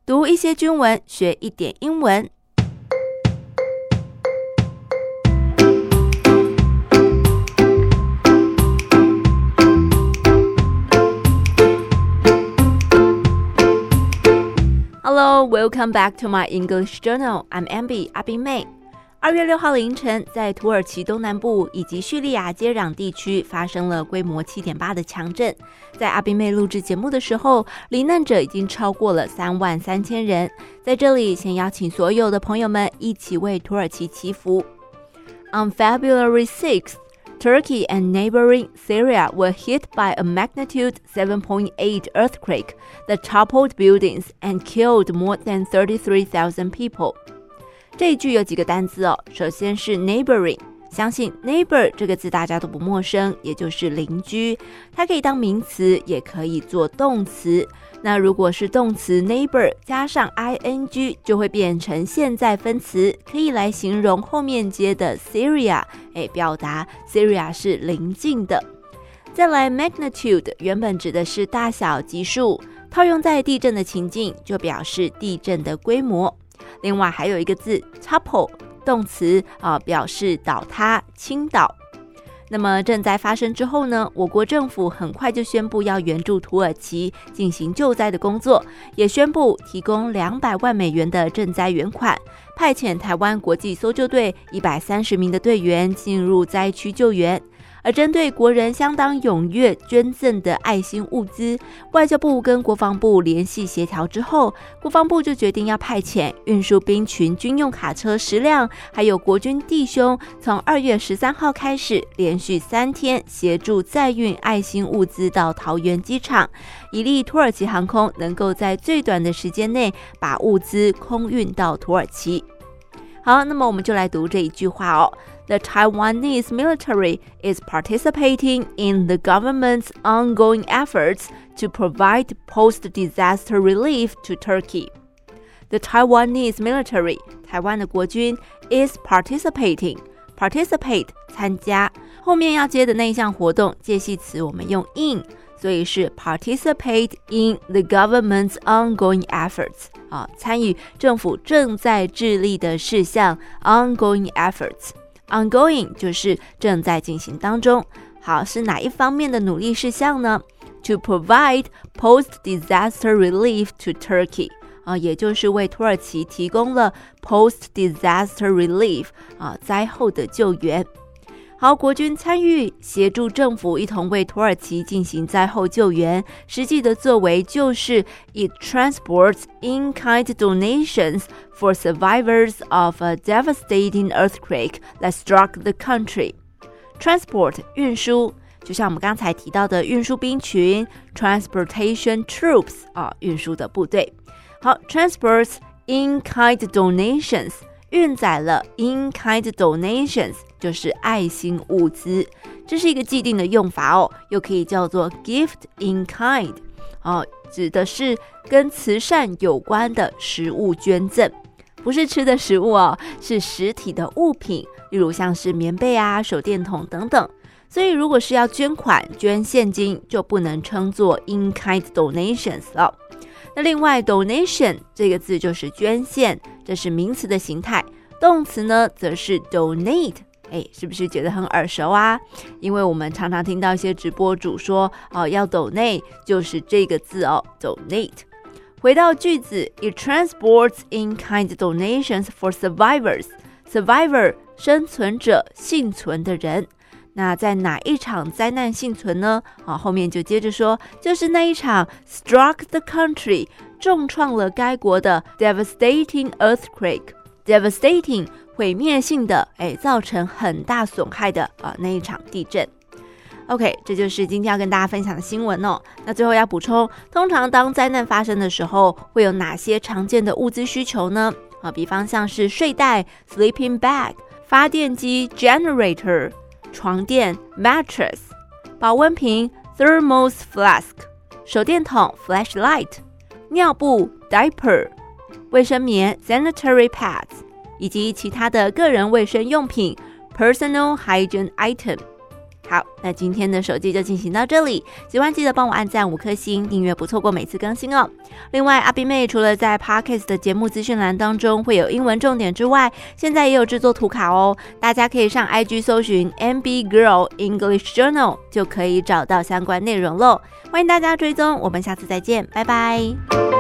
讀一些軍文，學一點英文。Hello, welcome back to my English journal. I'm Amber, 阿賓妹。2月6號凌晨，在土耳其東南部以及敘利亞接壤地區發生了規模 7.8 的強震。在阿賓妹錄製節目的時候，罹難者已經超過了33000人。在這裡，先邀請所有的朋友們一起為土耳其祈福。On February 6th, Turkey and neighboring Syria were hit by a magnitude 7.8 earthquake that toppled buildings and killed more than 33,000 people. 這一句有幾個單字哦，首先是 neighboring， 相信 neighbor 這個字大家都不陌生，也就是鄰居，它可以當名詞，也可以做動詞。那如果是動詞 neighbor 加上 ing 就會變成現在分詞，可以來形容後面接的 Syria， 表達 Syria 是鄰近的。再來 magnitude 原本指的是大小級數，套用在地震的情境就表示地震的規模。另外還有一個字 topple 動詞表示倒塌傾倒。那麼震災發生之後呢，我國政府很快就宣布要援助土耳其進行救災的工作，也宣布提供200萬美元的賑災援款，派遣台灣國際搜救隊130名的隊員進入災區救援。而針對國人相當踴躍捐贈的愛心物資，外交部跟國防部聯繫協調之後，國防部就決定要派遣運輸兵群軍用卡車10輛，還有國軍弟兄，從2月13號開始，連續3天協助載運愛心物資到桃園機場，以利土耳其航空能夠在最短的時間內把物資空運到土耳其。好，那麼我們就來讀這一句話哦。The Taiwanese military is participating in the government's ongoing efforts to provide post-disaster relief to Turkey. The Taiwanese military, 台灣的國軍 is participating. Participate 參加，後面要接的那一項活動介系詞我們用 in， 所以是 participate in the government's ongoing efforts。參與政府正在致力的事項 ongoing efforts。Ongoing 就是正在進行當中。好，是哪一方面的努力事項呢？ To provide post-disaster relief to Turkey， 也就是為土耳其提供了 post-disaster relief， 災後的救援。好，國軍參與協助政府一同為土耳其進行災後救援，實際的作為就是 It transports in-kind donations for survivors of a devastating earthquake that struck the country. Transport 運輸，就像我們剛才提到的運輸兵群 Transportation troops 運輸的部隊。好 Transports in-kind donations，運載了 in-kind donations， 就是愛心物資，這是一個既定的用法哦，又可以叫做 gift in kind， 指的是跟慈善有關的食物捐贈，不是吃的食物哦，是實體的物品，例如像是棉被啊、手電筒等等。所以如果是要捐款、捐現金，就不能稱作 in-kind donations 了。那另外 donation 這個字就是捐獻，這是名詞的形態，動詞呢則是 donate。是不是覺得很耳熟啊？因為我們常常聽到一些直播主說要 donate， 就是這個字哦 donate。回到句子 It transports in-kind donations for survivors。 Survivor 生存者、幸存的人。那在哪一場災難幸存呢？後面就接着說，就是那一場 struck the country 重創了該國的 devastating earthquake。Devastating 毀滅性的，造成很大損害的那一場地震。OK， 這就是今天要跟大家分享的新聞哦。那最後要補充，通常當災難發生的時候，會有哪些常見的物資需求呢？比方像是睡袋 sleeping bag， 發電機 generator， 床墊 mattress， 保溫瓶 thermos flask， 手電筒 flashlight， 尿布 diaper， 衛生棉 sanitary pads， 以及其他的個人衛生用品 personal hygiene item。 好，那今天的手機就進行到這裡，喜歡記得幫我按讚5顆星，訂閱不錯過每次更新哦。另外，阿賓妹除了在 Podcast 的節目資訊欄當中會有英文重點之外，現在也有製作圖卡哦，大家可以上 IG 搜尋 MB Girl English Journal 就可以找到相關內容嘍。歡迎大家追蹤，我們下次再見，拜拜。